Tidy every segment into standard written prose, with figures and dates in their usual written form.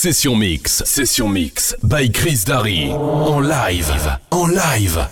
Session Mix by Chris Darry. En live.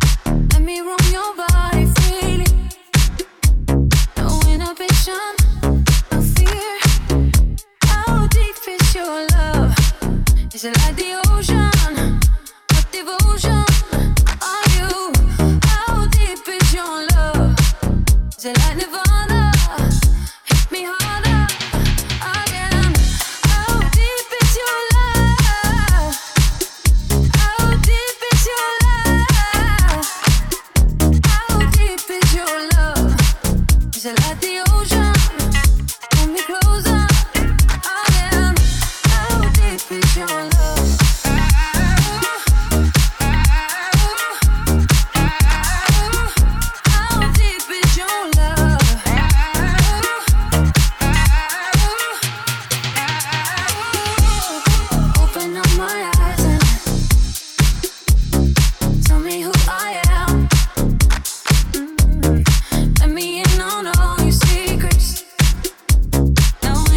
Your body freely, no inhibition. Is it like the ocean? What devotion are you? How deep is your love? Is it like Nirvana? Hit me harder again. How deep is your love? How deep is your love? How deep is your love? Is it like the ocean? Pull me closer again. How deep is your love? Now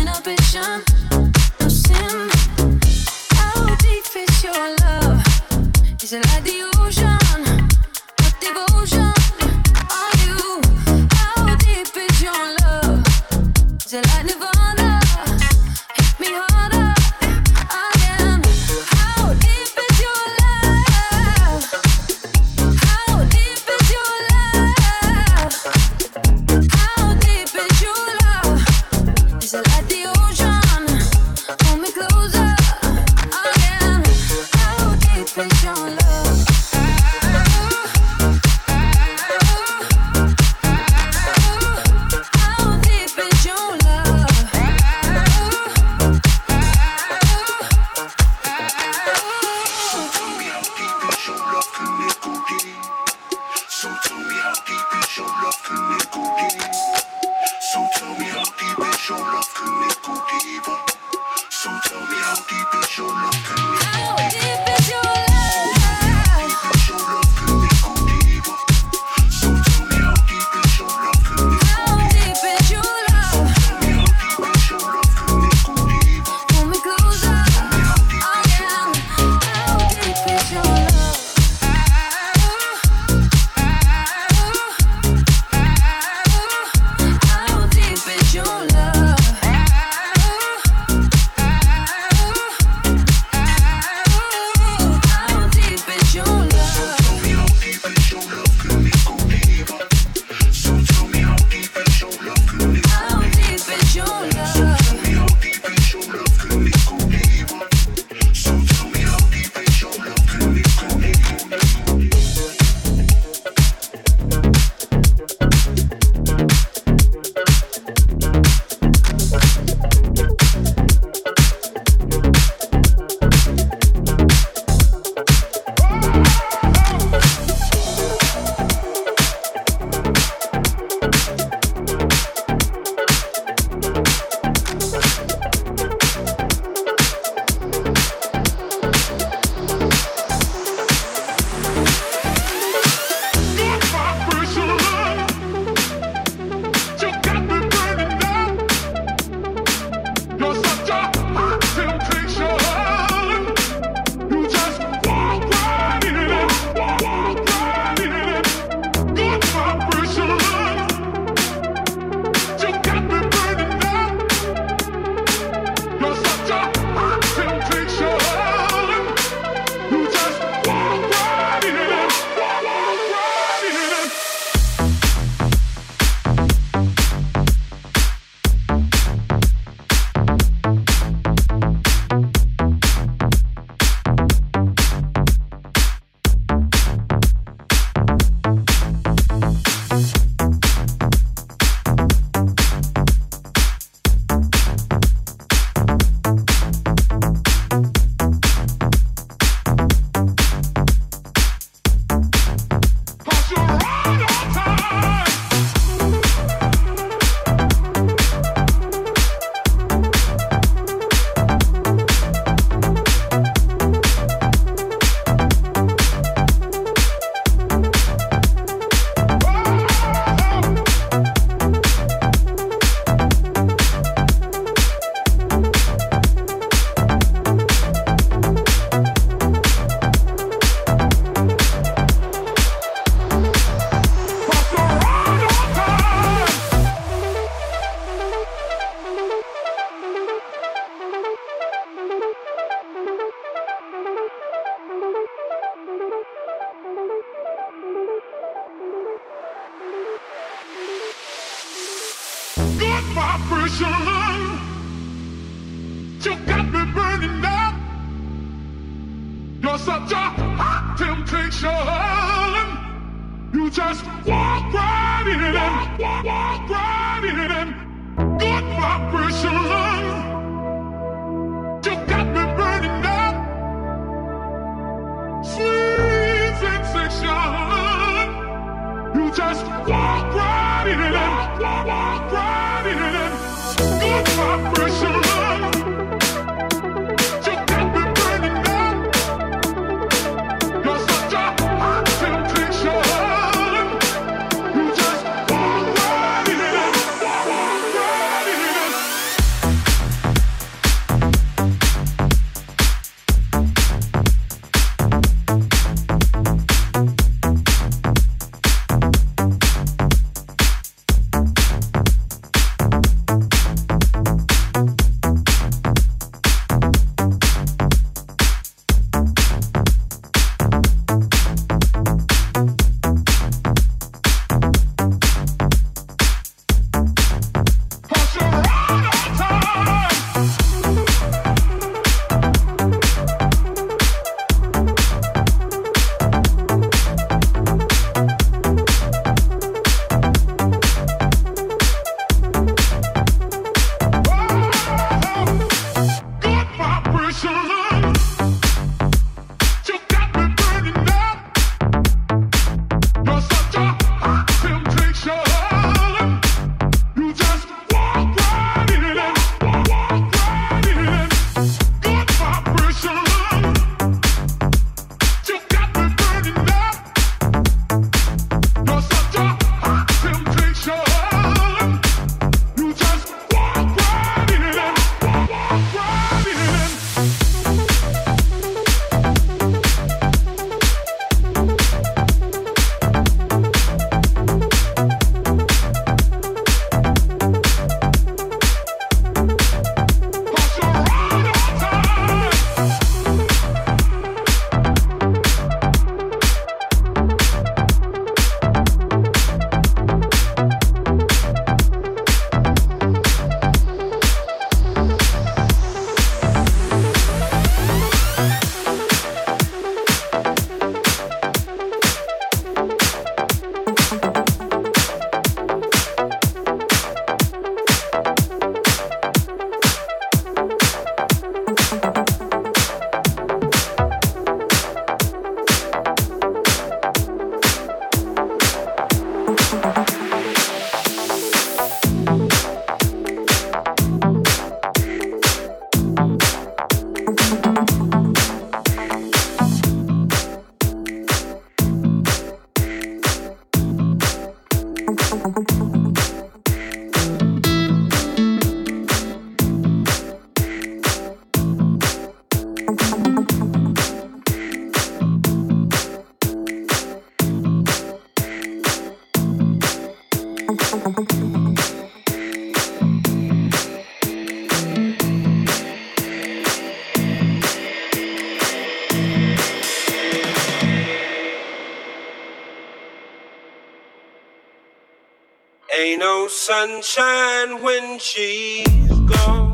Ain't no sunshine when she's gone.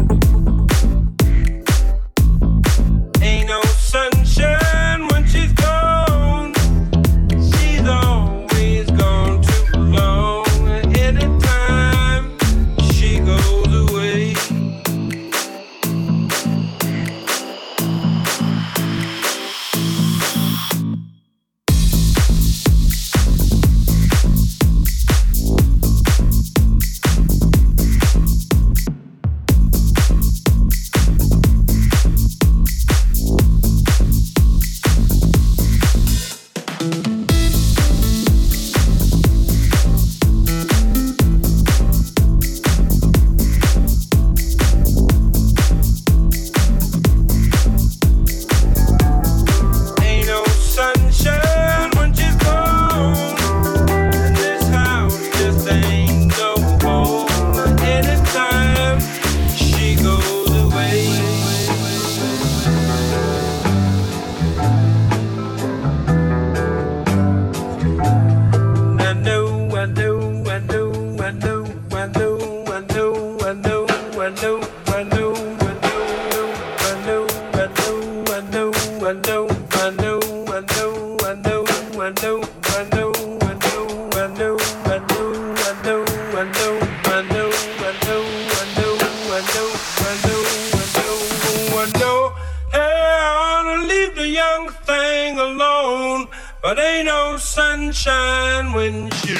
Sunshine when she's gone. But ain't no sunshine when you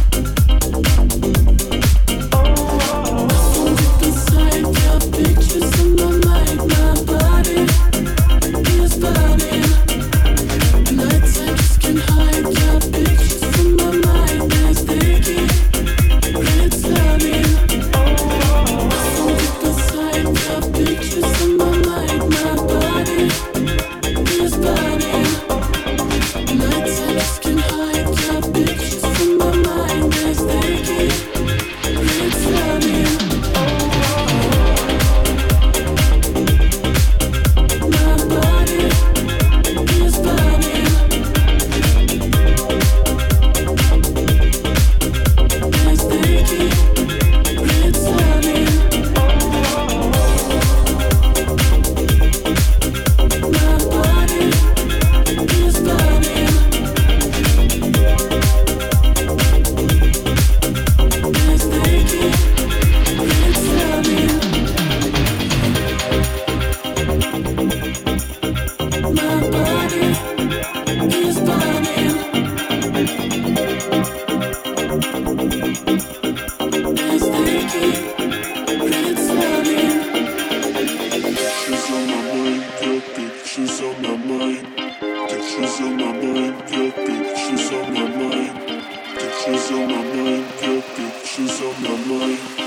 Pictures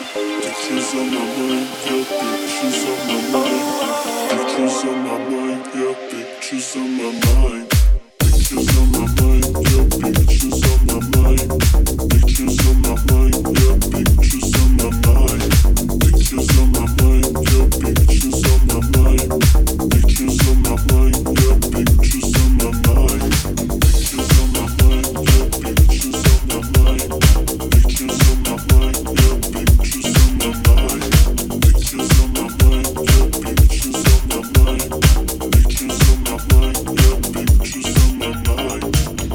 Pictures on my mind, yeah, pictures on my mind. Pictures on my mind, yeah, pictures on my mind. Pictures on my mind, yeah, pictures on my mind. Pictures on my mind, yeah, pictures on my mind. Pictures on my mind, yeah, pictures on my mind. Pictures on my mind, yeah, pictures on my mind. Pictures on my mind, yeah, pictures on my mind. Pictures on my mind, yeah, pictures on my mind. Pictures on my mind, yeah, pictures on my mind. Pictures on my mind, yeah, pictures on my mind.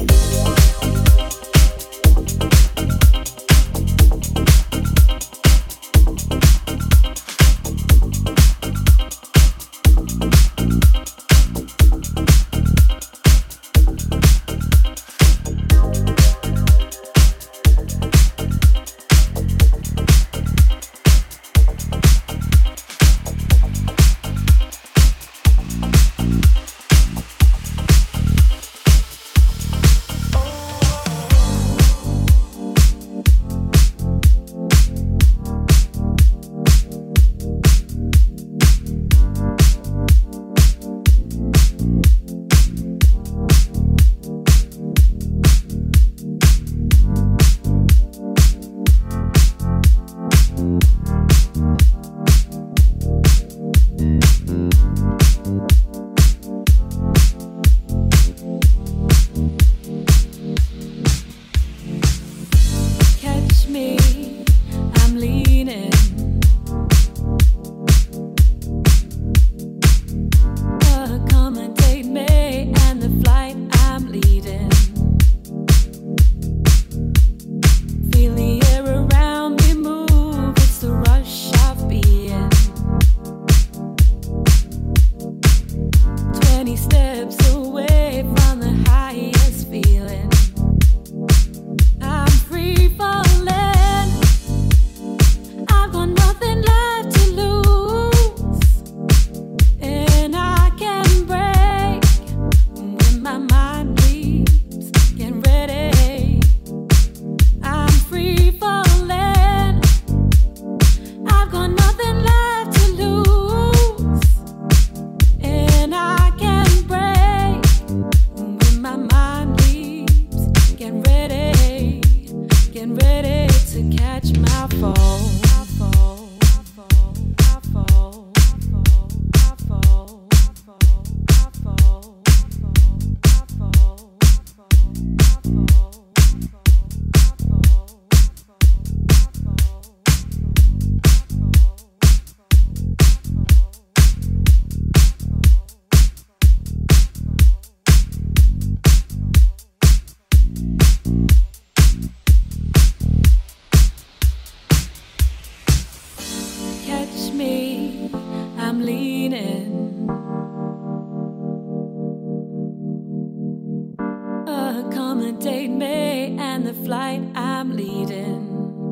Accommodate me and the flight I'm leading.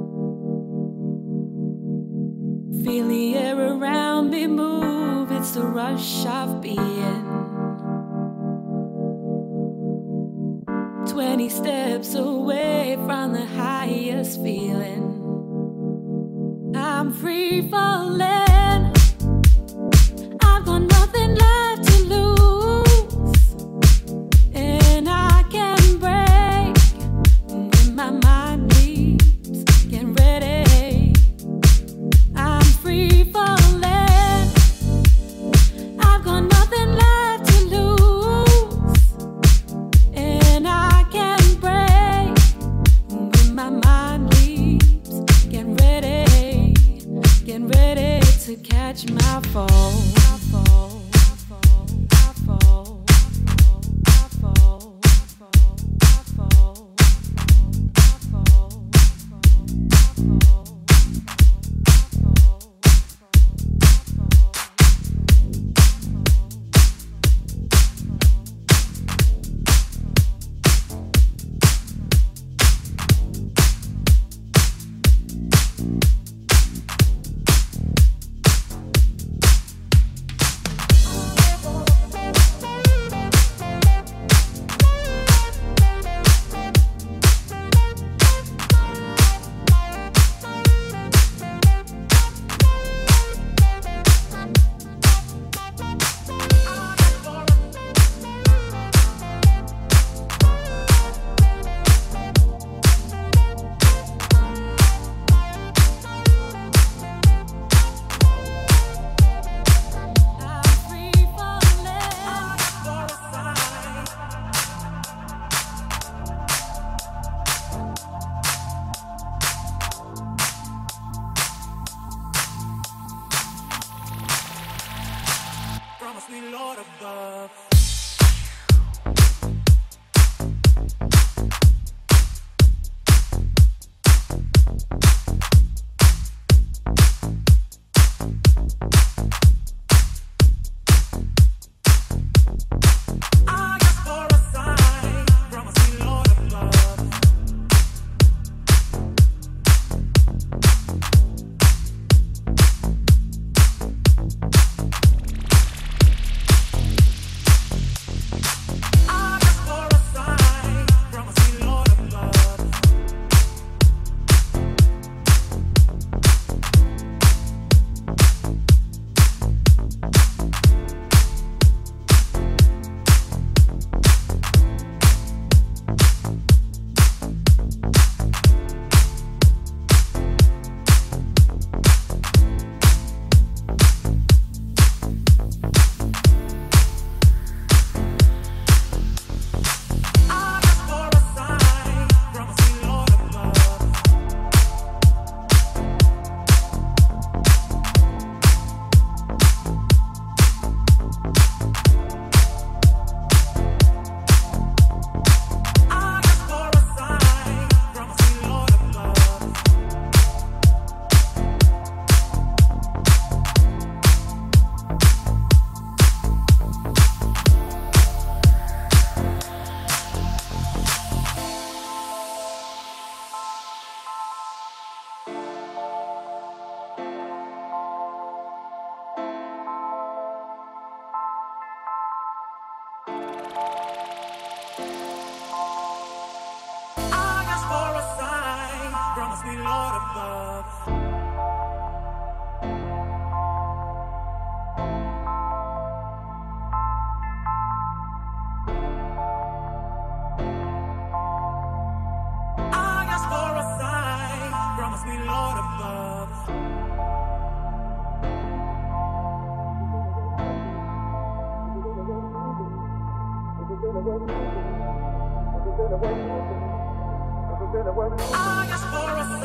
Feel the air around me move, it's the rush of being. 20 steps away from the highest feeling. I'm free falling. I've got nothing left to lose, and I can break when my mind leaves. Get ready. I'm free falling. I've got nothing left to lose, and I can break when my mind leaves. Get ready to catch my fall. sweet Lord above. Sweet Lord above. I ask for a sign from a sweet Lord above. I ask for a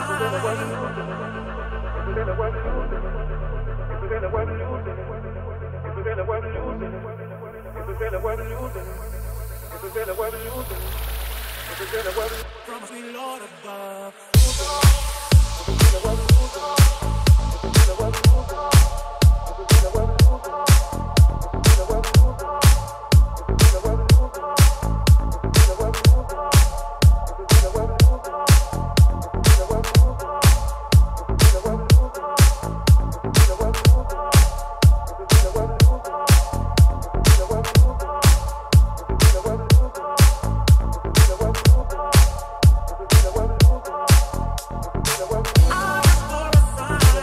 from a sweet Lord above. I ask for a sign.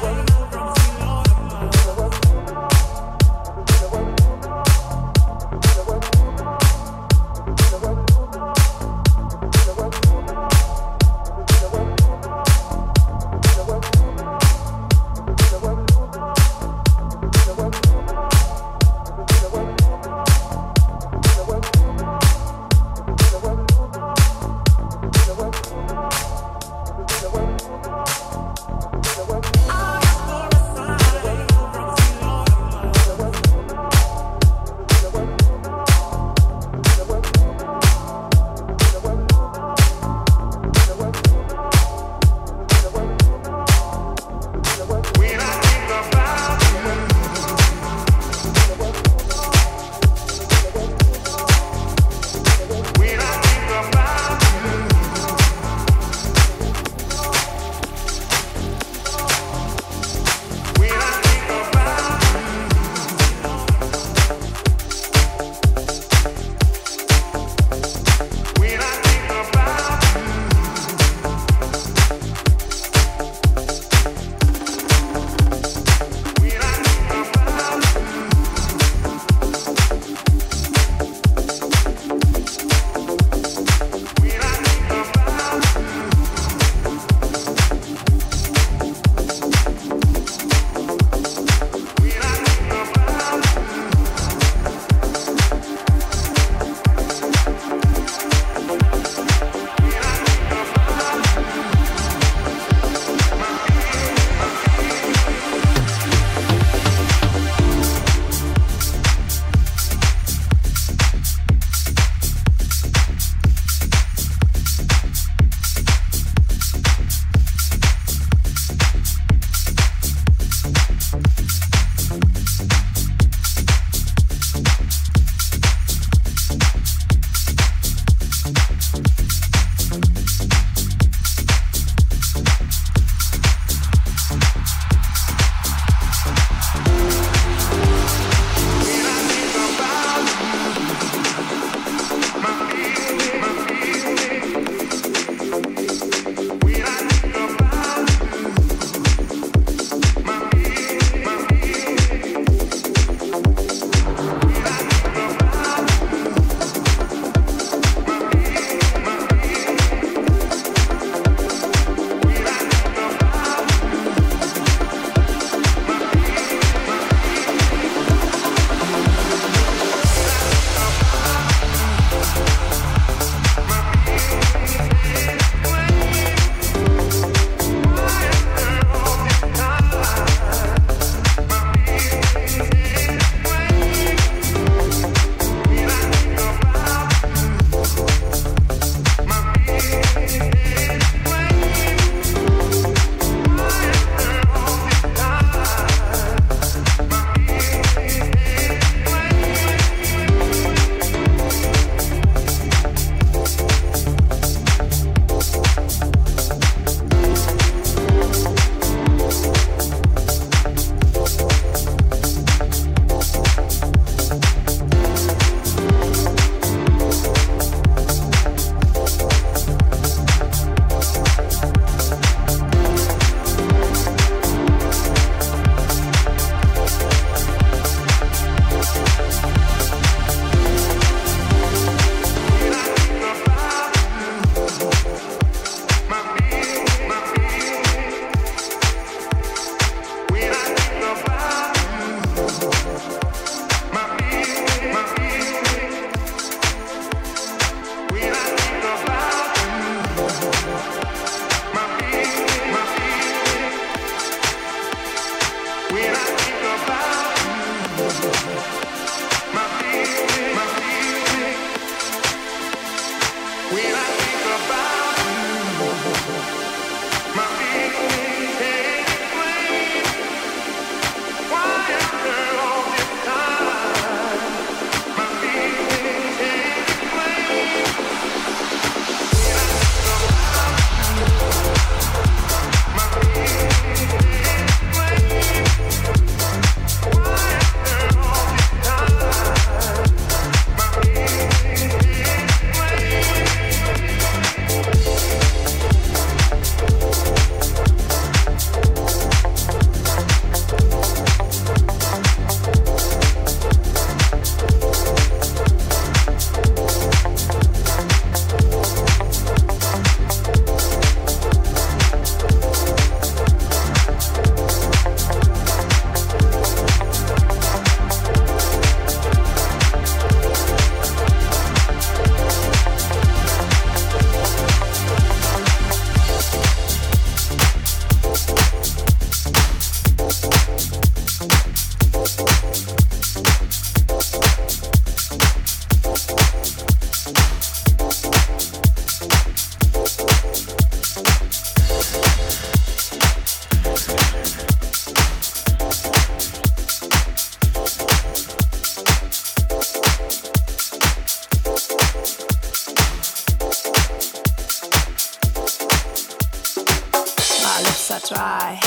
dry.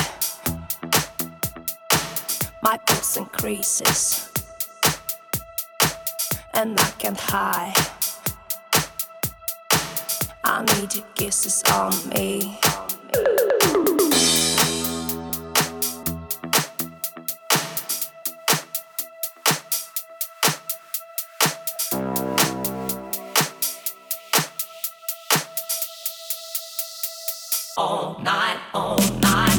My pulse increases, and I can't hide. I need your kisses on me. All night, all night.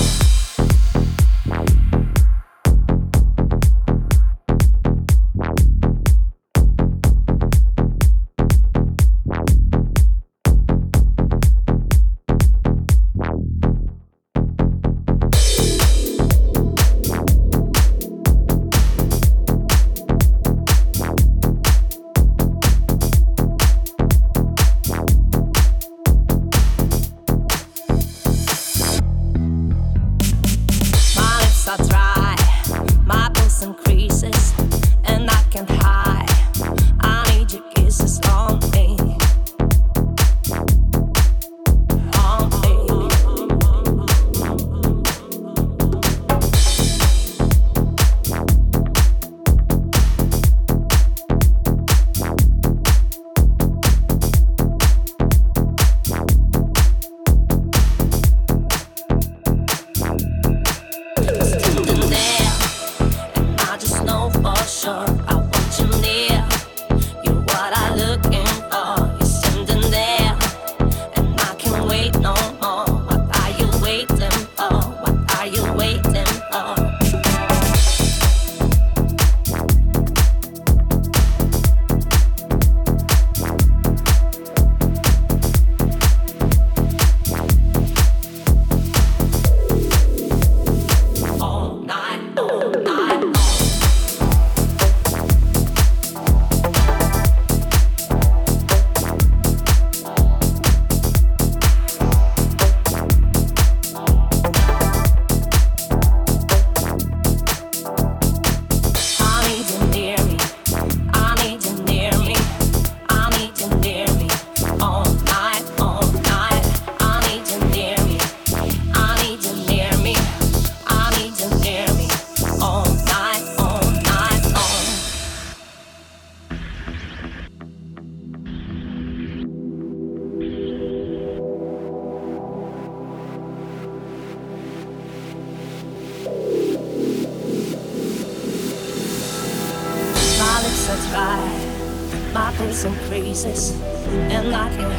My pulse increases, and I can't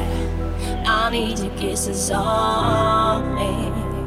hide. I need your kisses on me.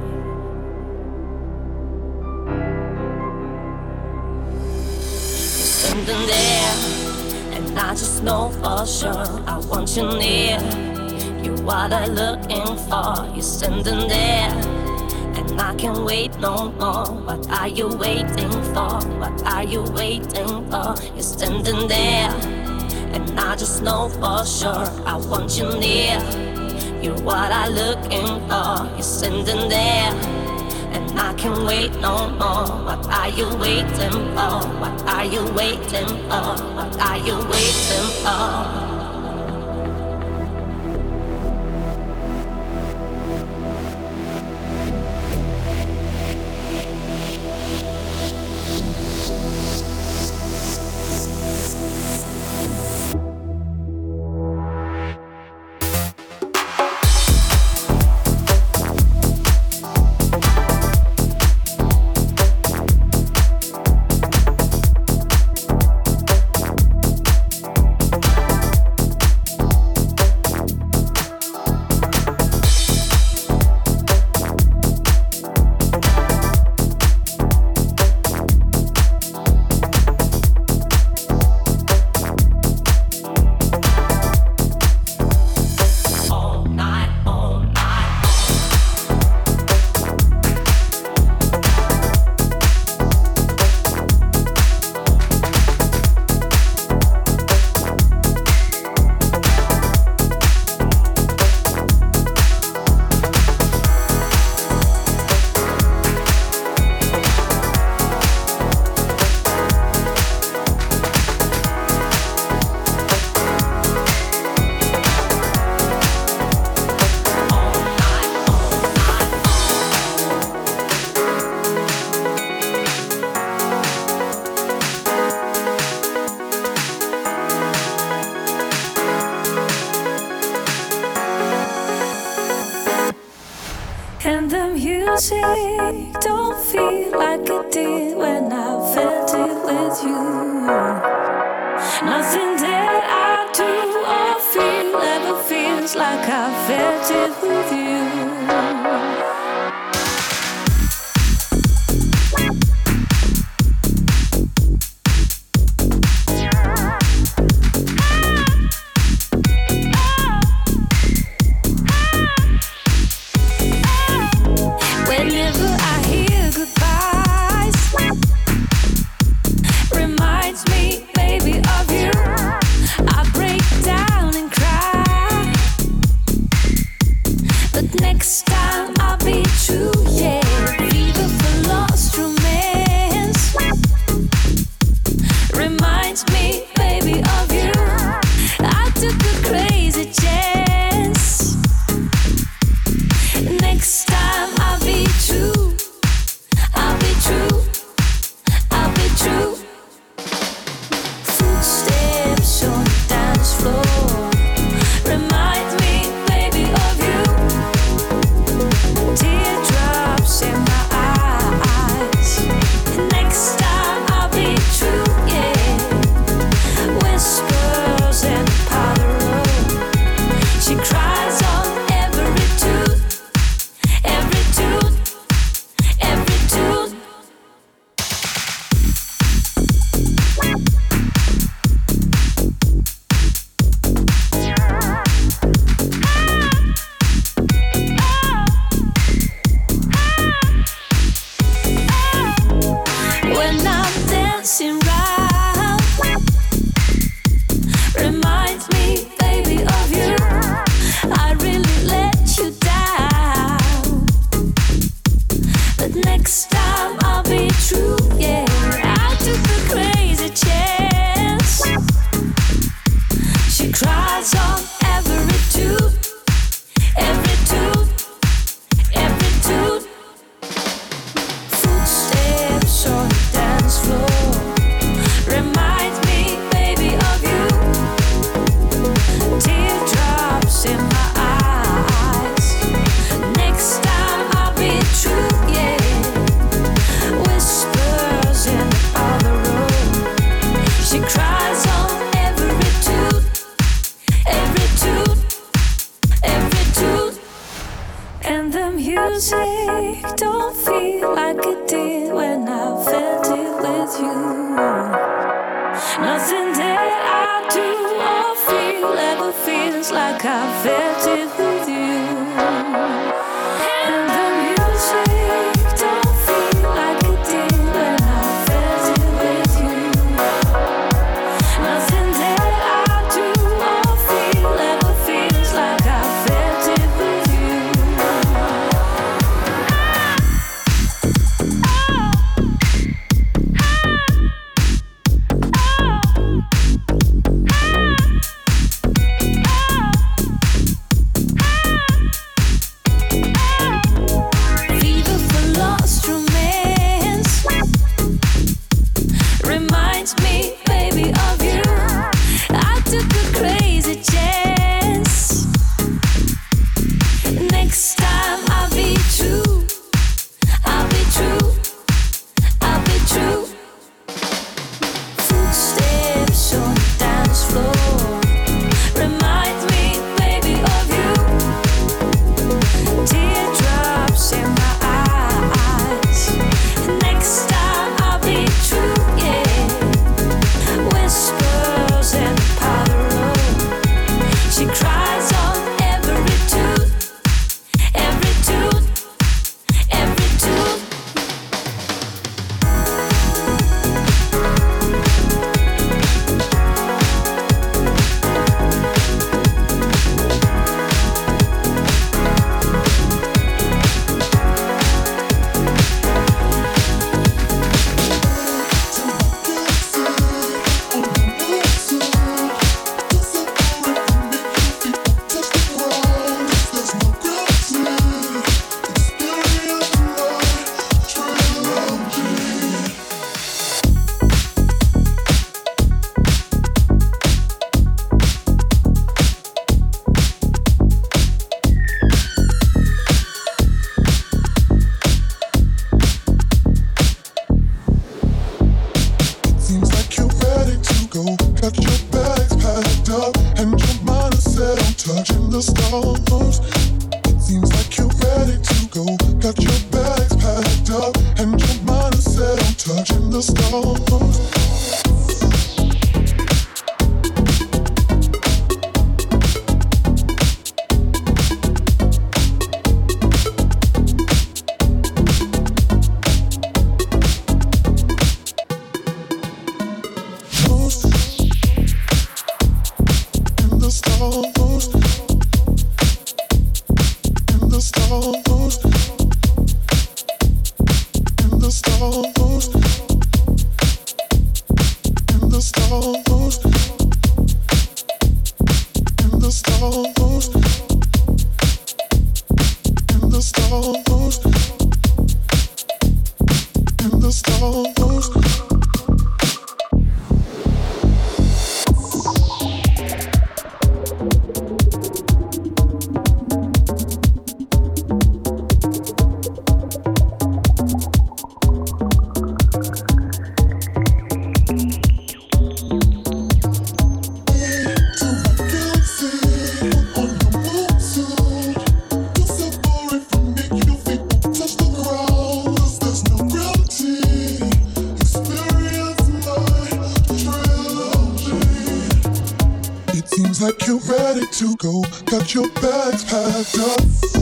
You're standing there, and I just know for sure I want you near. You're what I'm looking for. You're standing there, and and I can't wait no more. What are you waiting for? What are you waiting for? You're standing there, and I just know for sure I want you near. You're what I'm looking for. You're standing there, and I can't wait no more. What are you waiting for? What are you waiting for? What are you waiting for? And the music don't feel like it did when I felt it with you. Nothing that I do or feel ever feels like I felt it with you. Music don't feel like it did when I felt it with you. Nothing that I do or feel ever feels like I felt it with you. And the music the stars. It seems like you're ready to go. Got your bags packed up and your mind is set on touching the stars. Like you're ready to go, got your bags packed up.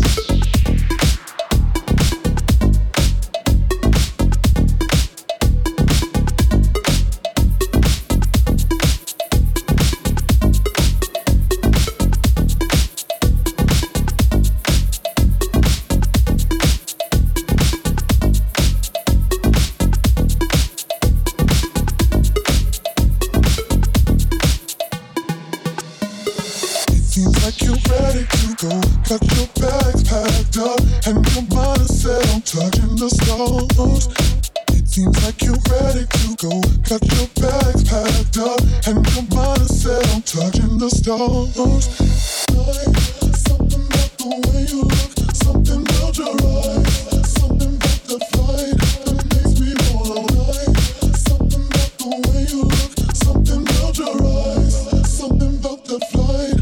Seems like you're ready to go. Got your bags packed up and your mind is set on touching the stars. It seems like you're ready to go. Got your bags packed up and your mind is set on touching the stars. Something about the way you look, something about your eyes, something about the flight that makes me wanna lie. Something about the way you look, something about your eyes, something about the flight.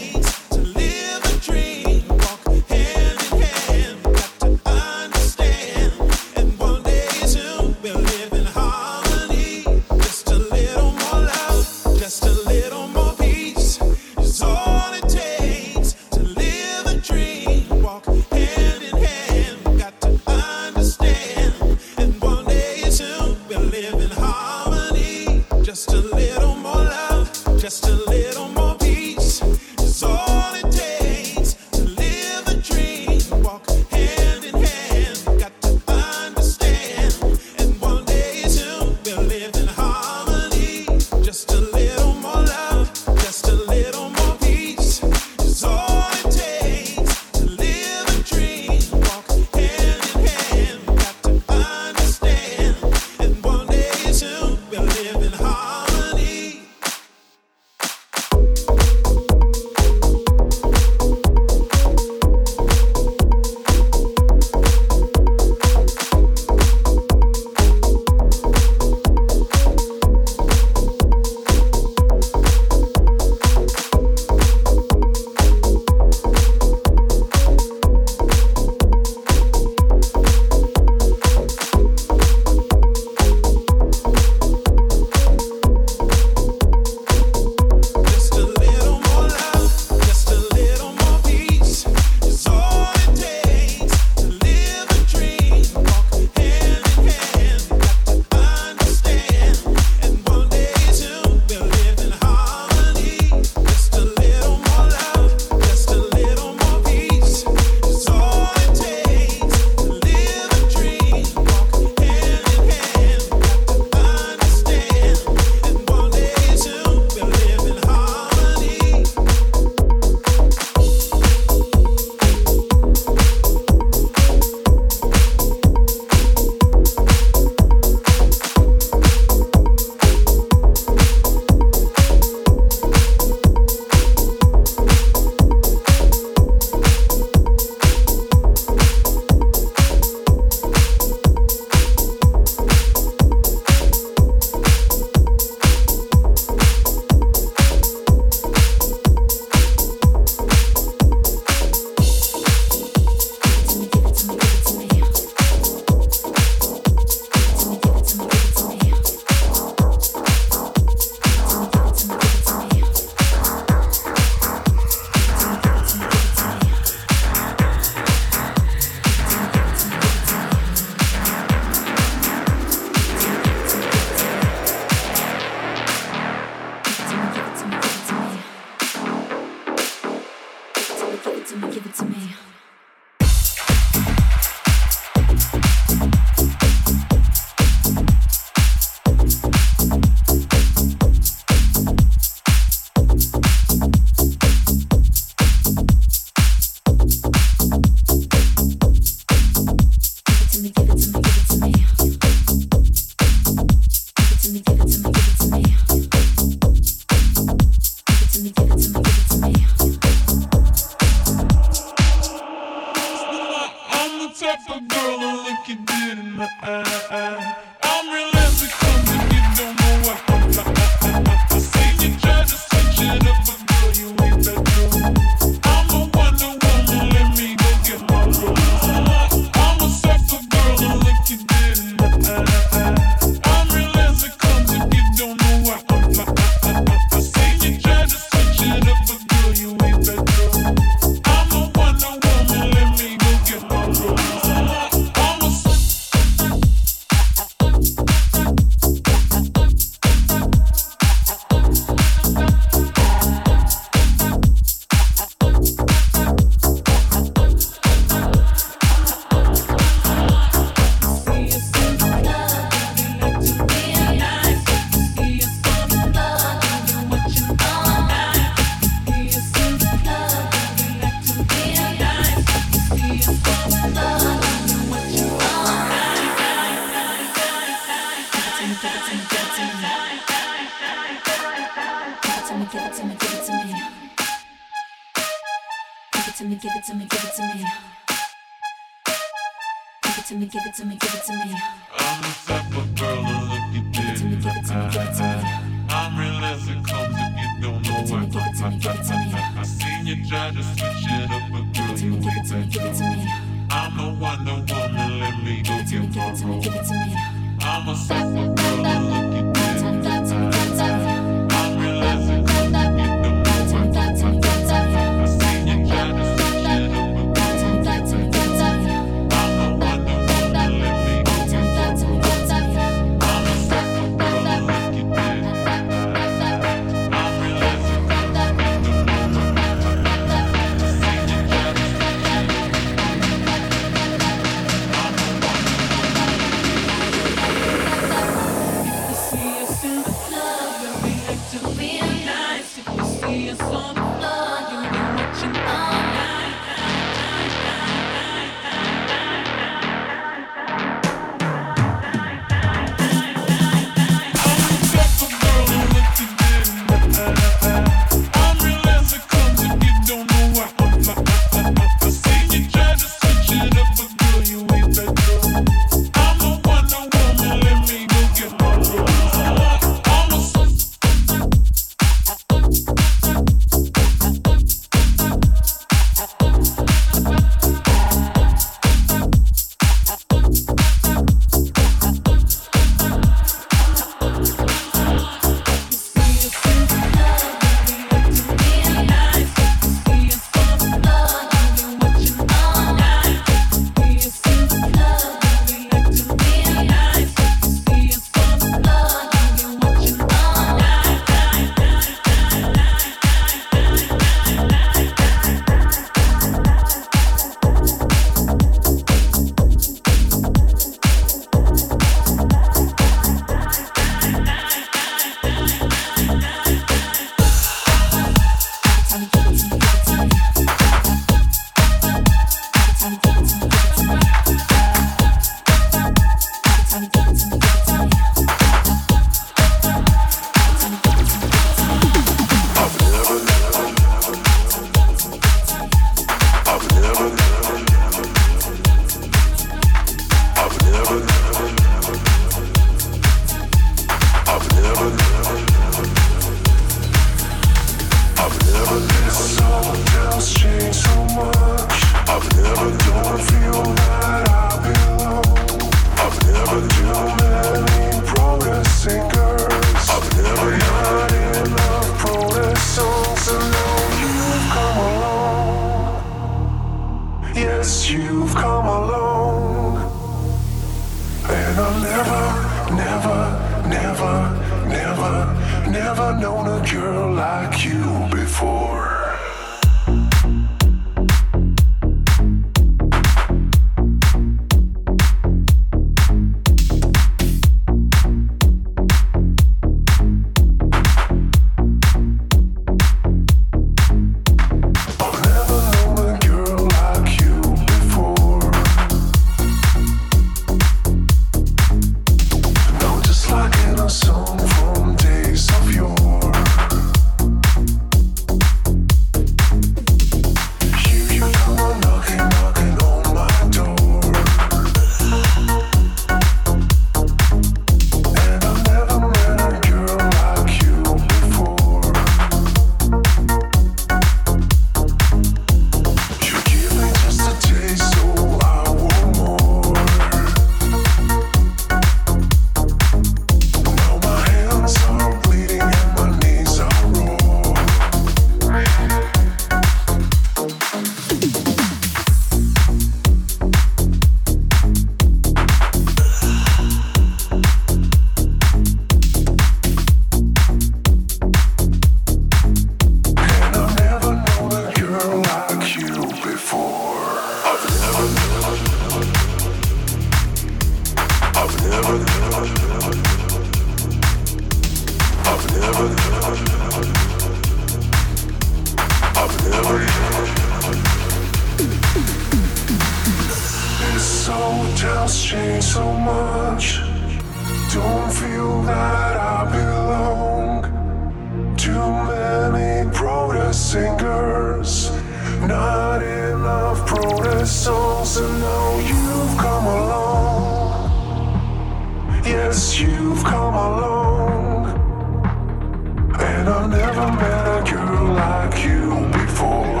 This hotel's changed so much. Don't feel that I belong. Too many protest singers, not enough protest songs, and now you've come along. Yes, you've come along. And I've never met a girl like you before.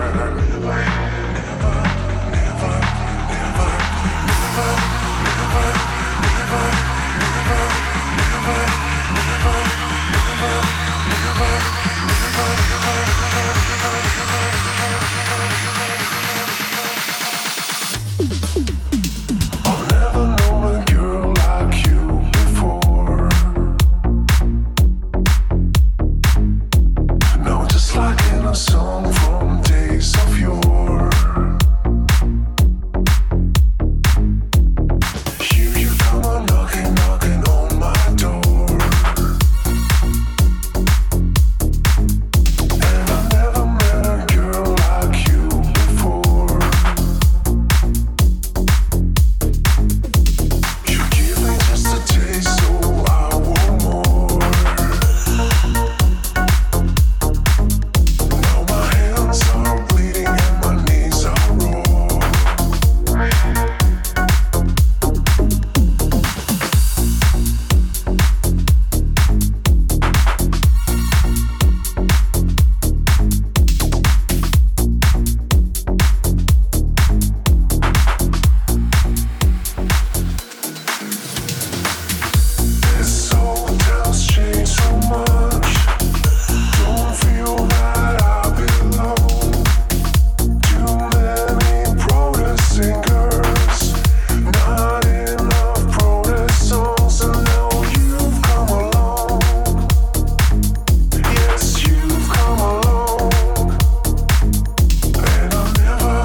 Song from days of yore. You come on knocking on my door. And I've never met a girl like you before. You give me just a taste, so I want more. Are bleeding and my knees are raw. This hotel's changed so much. Don't feel that I belong. Too many protest singers, not enough protest songs, and now you've come along. Yes, you've come along. And I've never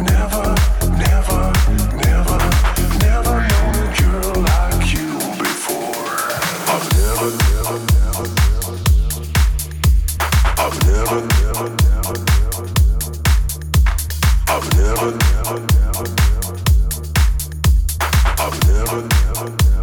known a girl like you before. I've never I've never